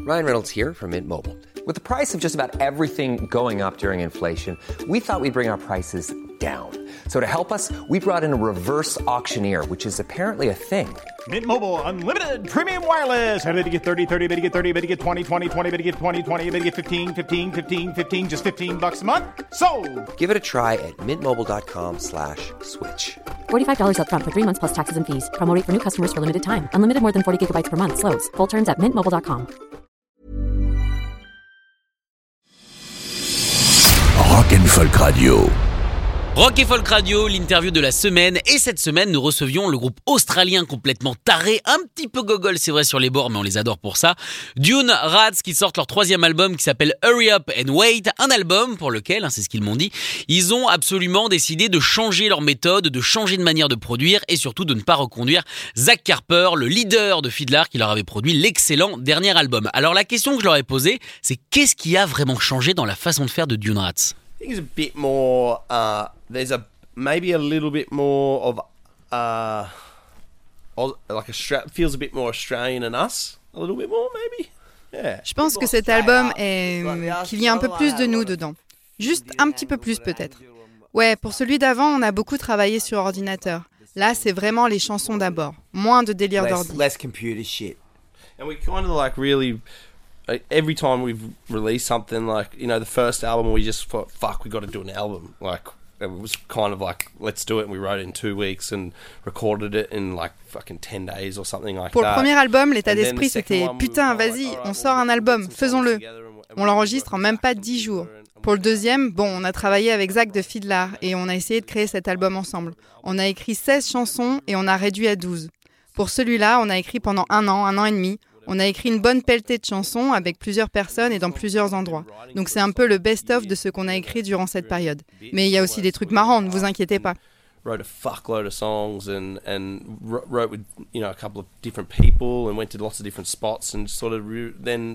Ryan Reynolds here from Mint Mobile. With the price of just about everything going up during inflation, we thought we'd bring our prices down. So to help us, we brought in a reverse auctioneer, which is apparently a thing. Mint Mobile Unlimited Premium Wireless. How to get 30, 30, bit to get 30, bit to get 20, 20, 20, bit to get 20, 20, bit to get 15, 15, 15, 15, just $15 a month? Sold! Give it a try at mintmobile.com/switch. $45 up front for 3 months plus taxes and fees. Promo rate for new customers for limited time. Unlimited more than 40 gigabytes per month. Slows full terms at mintmobile.com. Rock & Folk Radio. Rock et Folk Radio, l'interview de la semaine. Et cette semaine, nous recevions le groupe australien complètement taré, un petit peu gogol, c'est vrai, sur les bords, mais on les adore pour ça. Dune Rats, qui sortent leur 3e album qui s'appelle Hurry Up and Wait. Un album pour lequel, c'est ce qu'ils m'ont dit, ils ont absolument décidé de changer leur méthode, de changer de manière de produire et surtout de ne pas reconduire Zach Carper, le leader de Fiddler, qui leur avait produit l'excellent dernier album. Alors la question que je leur ai posée, c'est qu'est-ce qui a vraiment changé dans la façon de faire de Dune Rats ? I think it's a bit more. There's maybe a little bit more of feels a bit more Australian than us. A little bit more, maybe. Yeah. Je pense que cet album qu'il y a un peu plus de nous dedans. Juste un petit peu plus peut-être. Ouais, pour celui d'avant, on a beaucoup travaillé sur ordinateur. Là, c'est vraiment les chansons d'abord. Moins de délire d'ordi. Less computer shit. And we kind of really. Every time we've released something, the first album, we just thought, fuck, we got to do an album. It was kind of let's do it. And we wrote it in 2 weeks and recorded it in fucking 10 days or something like that. Pour le premier album, l'état d'esprit, c'était putain, vas-y, on sort un album, faisons-le. On l'enregistre en même pas 10 jours. Pour le deuxième, on a travaillé avec Zach de Fiddler et on a essayé de créer cet album ensemble. On a écrit 16 chansons et on a réduit à 12. Pour celui-là, on a écrit pendant 1 an et demi. On a écrit une bonne pelletée de chansons avec plusieurs personnes et dans plusieurs endroits. Donc c'est un peu le best-of de ce qu'on a écrit durant cette période. Mais il y a aussi des trucs marrants, ne vous inquiétez pas. Wrote a fuckload of songs and wrote with a couple of different people and went to lots of different spots and then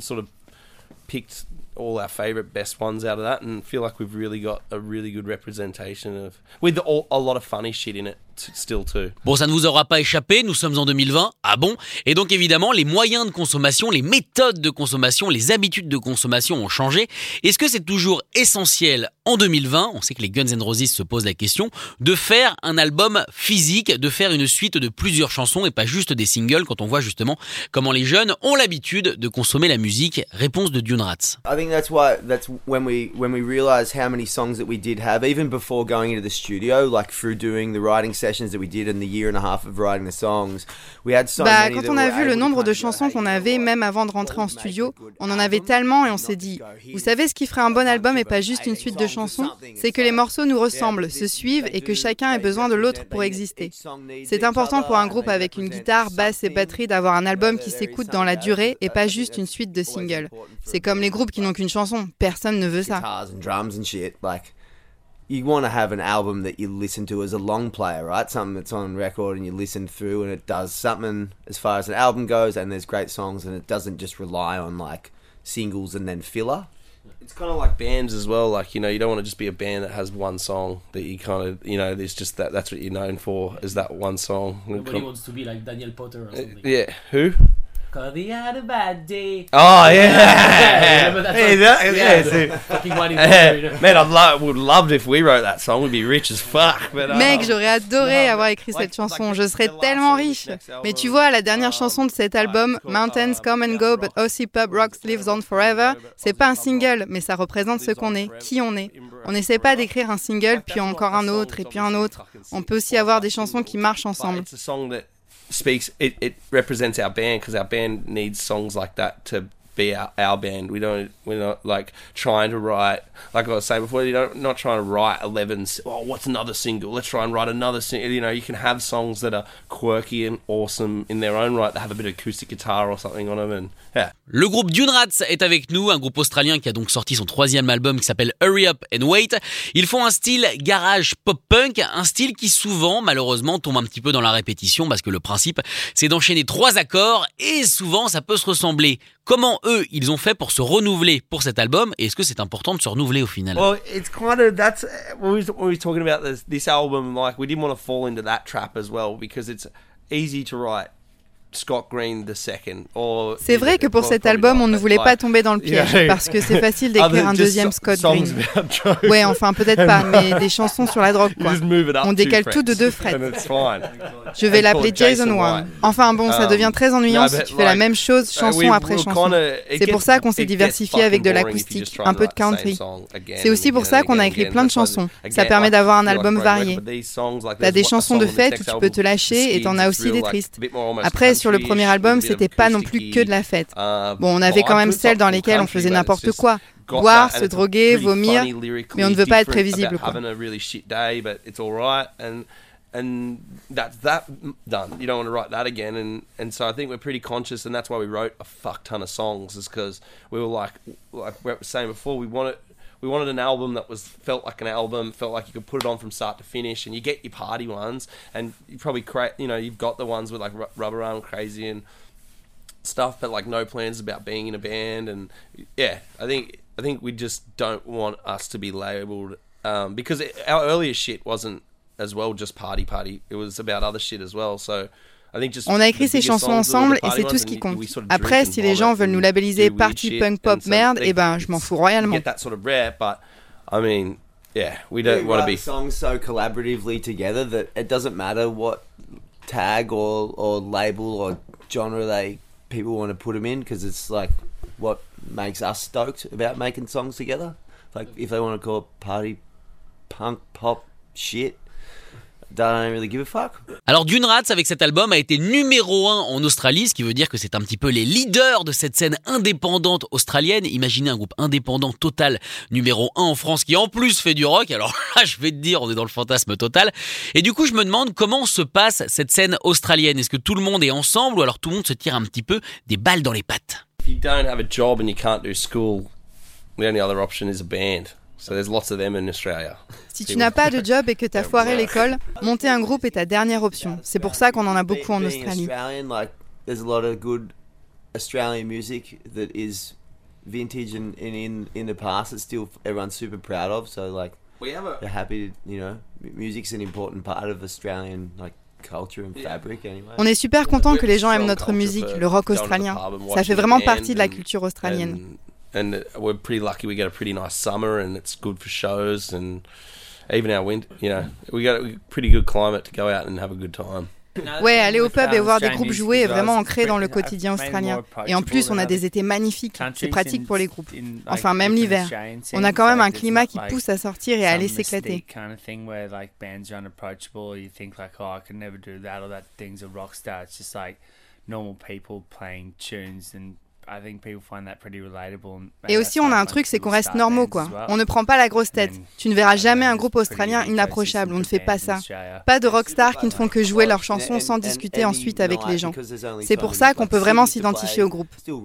picked all our favourite best ones out of that and feel like we've really got a really good representation of with a lot of funny shit in it still too. Bon, ça ne vous aura pas échappé, nous sommes en 2020, ah bon ? Et donc évidemment, les moyens de consommation, les méthodes de consommation, les habitudes de consommation ont changé. Est-ce que c'est toujours essentiel en 2020, on sait que les Guns N' Roses se posent la question, de faire un album physique, de faire une suite de plusieurs chansons et pas juste des singles quand on voit justement comment les jeunes ont l'habitude de consommer la musique ? Réponse de Dune Rats. I think that's when we realized how many songs that we did have, even before going into the studio, through doing the writing sessions that we did in the year and a half of writing the songs, we had so many. Quand on a vu le nombre de chansons qu'on avait, même avant de rentrer en studio, on en avait tellement et on s'est dit, vous savez ce qui ferait un bon album et pas juste une suite de chansons ? C'est que les morceaux nous ressemblent, se suivent et que chacun ait besoin de l'autre pour exister. C'est important pour un groupe avec une guitare, basse et batterie d'avoir un album qui s'écoute dans la durée et pas juste une suite de singles. C'est comme les groupes qui n'ont qu'une chanson, personne ne veut ça. You want to have an album that you listen to as a long player, right? Something that's on record and you listen through and it does something as far as an album goes and there's great songs and it doesn't just rely on singles and then filler. It's kind of like bands as well, you don't want to just be a band that has one song that you kind of, there's just that's what you're known for, is that one song. Nobody wants to be like Daniel Potter or something. Yeah, who? Cause he had a bad day. Oh yeah, Man, would love if we wrote that song. We'd be rich as fuck. But, Mec, j'aurais adoré avoir écrit cette chanson. Je serais tellement riche. Mais tu vois, la dernière chanson de cet album, Mountains Come and Go, but Aussie Pub Rocks Lives On Forever, c'est pas un single, mais ça représente ce qu'on est, qui on est. On n'essaie pas d'écrire un single, puis encore un autre, et puis un autre. On peut aussi avoir des chansons qui marchent ensemble. It represents our band because our band needs songs like that to be our band. We're not trying to write, like I was saying before, not trying to write 11, what's another single? Let's try and write another single. You can have songs that are quirky and awesome in their own right, that have a bit of acoustic guitar or something on them. And yeah. Le groupe Dune Rats est avec nous, un groupe australien qui a donc sorti son 3e album qui s'appelle Hurry Up and Wait. Ils font un style garage pop-punk, un style qui souvent, malheureusement, tombe un petit peu dans la répétition parce que le principe, c'est d'enchaîner 3 accords et souvent, ça peut se ressembler. Comment eux, ils ont fait pour se renouveler pour cet album et est-ce que c'est important de se renouveler au final? Well, it's kind of, that's, when we were talking about this album, we didn't want to fall into that trap as well because it's easy to write Scott Green II. Or, c'est vrai que pour cet album, on ne voulait pas tomber dans le piège, parce que c'est facile d'écrire un deuxième Scott Green. Ouais, enfin peut-être pas, mais des chansons sur la drogue, quoi. On décale tout de 2 frettes. Je vais l'appeler Jason 1. Enfin bon, ça devient très ennuyant si tu fais la même chose chanson après chanson. C'est pour ça qu'on s'est diversifié avec de l'acoustique, un peu de country. C'est aussi pour ça qu'on a écrit plein de chansons. Ça permet d'avoir un album varié. T'as des chansons de fête où tu peux te lâcher et t'en as aussi des tristes. Après, sur le premier album, c'était pas non plus que de la fête. Bon, on avait quand même celles dans lesquelles on faisait n'importe quoi. Boire, se droguer, vomir, mais on ne veut pas être prévisible, quoi. And that's that done. You don't want to write that again, and so I think we're pretty conscious, and that's why we wrote a fuck ton of songs, is because we were like we were saying before, we wanted an album that felt like an album, felt like you could put it on from start to finish, and you get your party ones, and you probably you've got the ones with like Rubber Arm Crazy and stuff, but like no plans about being in a band, and yeah, I think we just don't want us to be labelled because our earlier shit wasn't as well just party. It was about other shit as well. So I think just on a écrit ces chansons ensemble et c'est tout ce qui compte. Après, si les gens veulent nous labelliser party punk pop merde, eh ben je m'en fous royalement. Get that sort of rare, but I mean, yeah, we don't want to be songs so collaboratively together that it doesn't matter what tag or label or genre people want to put them in, because it's like what makes us stoked about making songs together. Like if they want to call it party punk pop shit, don't really give a fuck. Alors Dune Rats avec cet album a été numéro 1 en Australie, ce qui veut dire que c'est un petit peu les leaders de cette scène indépendante australienne. Imaginez un groupe indépendant total numéro 1 en France qui en plus fait du rock. Alors là je vais te dire, on est dans le fantasme total. Et du coup je me demande comment se passe cette scène australienne. Est-ce que tout le monde est ensemble ou alors tout le monde se tire un petit peu des balles dans les pattes? If you don't have a job and you can't do school, the only other option is a band. So there's lots of them in Australia. Si tu n'as pas de job et que t'as foiré l'école, monter un groupe est ta dernière option. C'est pour ça qu'on en a beaucoup en Australie. There's a lot of good Australian music that is vintage and in the past that still everyone's super proud of. So like they're happy to, music's an important part of Australian culture and fabric anyway. On est super content que les gens aiment notre musique, le rock australien. Ça fait vraiment partie de la culture australienne. And we're pretty lucky. We get a pretty nice summer, and it's good for shows, and even our winter. We got a pretty good climate to go out and have a good time. Ouais, aller au pub et voir des groupes jouer est vraiment ancré dans le quotidien australien. Et en plus, on a des étés magnifiques. C'est pratique pour les groupes. Enfin, même l'hiver. On a quand même un climat qui pousse à sortir et à aller s'éclater. Et aussi on a un truc, c'est qu'on reste normaux, quoi. On ne prend pas la grosse tête. Tu ne verras jamais un groupe australien inapprochable, on ne fait pas ça. Pas de rockstars qui ne font que jouer leurs chansons sans discuter ensuite avec les gens. C'est pour ça qu'on peut vraiment s'identifier au groupe.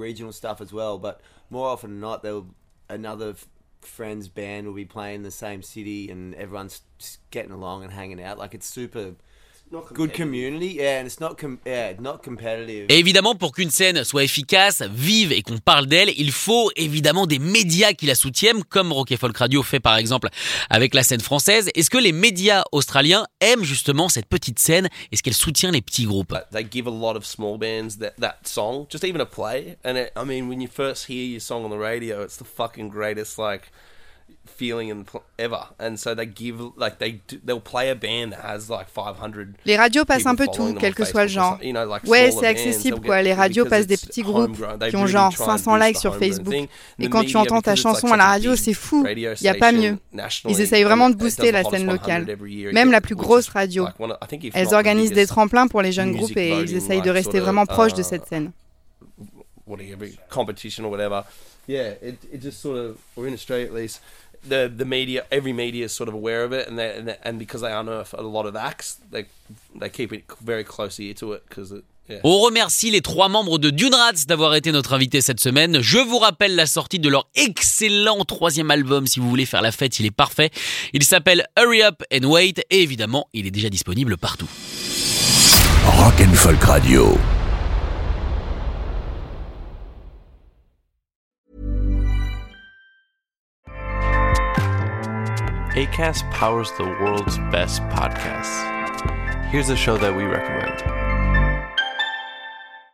Friends band will be playing the same city and everyone's getting along and hanging out. Like it's super good community, yeah, and it's not competitive. Et évidemment, pour qu'une scène soit efficace, vive et qu'on parle d'elle, il faut évidemment des médias qui la soutiennent, comme Rock & Folk Radio fait par exemple avec la scène française. Est-ce que les médias australiens aiment justement cette petite scène? Est-ce qu'elle soutient les petits groupes? They give a lot of small bands that song, just even a play. And I mean, when you first hear your song on the radio, it's the fucking greatest feeling ever, and so they'll play a band that has 500. Les radios passent un peu tout, quel que soit le genre. Ouais, c'est accessible quoi. Les radios passent des petits groupes qui ont genre 500 likes sur Facebook. Et quand tu entends ta chanson à la radio, c'est fou. Il y a pas mieux. Ils essayent vraiment de booster la scène locale. Même la plus grosse radio. Elles organisent des tremplins pour les jeunes groupes et ils essayent de rester vraiment proches de cette scène. Competition or whatever. Yeah, it just sort of, or in Australia at least, the media, every media is sort of aware of it, and because they unearth a lot of acts, they keep it very close ear to it because it. Yeah. On remercie les 3 membres de Dune Rats d'avoir été notre invité cette semaine. Je vous rappelle la sortie de leur excellent 3e album. Si vous voulez faire la fête, il est parfait. Il s'appelle Hurry Up and Wait et évidemment, il est déjà disponible partout. Rock & Folk Radio. Acast powers the world's best podcasts. Here's a show that we recommend.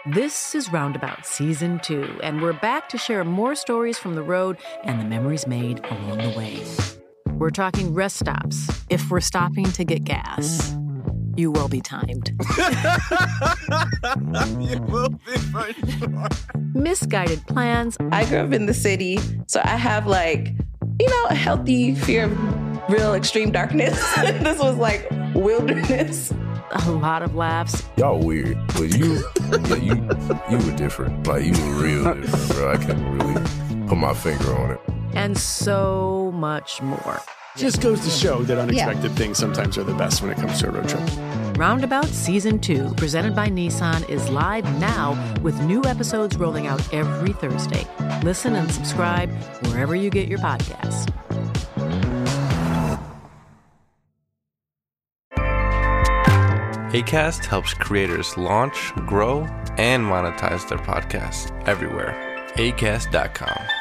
This is Roundabout Season 2, and we're back to share more stories from the road and the memories made along the way. We're talking rest stops, if we're stopping to get gas. You will be timed. You will be for sure. Misguided plans. I grew up in the city, so I have a healthy fear of real extreme darkness. This was like wilderness. A lot of laughs. Y'all weird, but you were different. Like, you were real different, bro. I can't really put my finger on it. And so much more. Just goes to show that unexpected things sometimes are the best when it comes to a road trip. Roundabout Season 2, presented by Nissan, is live now with new episodes rolling out every Thursday. Listen and subscribe wherever you get your podcasts. Acast helps creators launch, grow, and monetize their podcasts everywhere. Acast.com.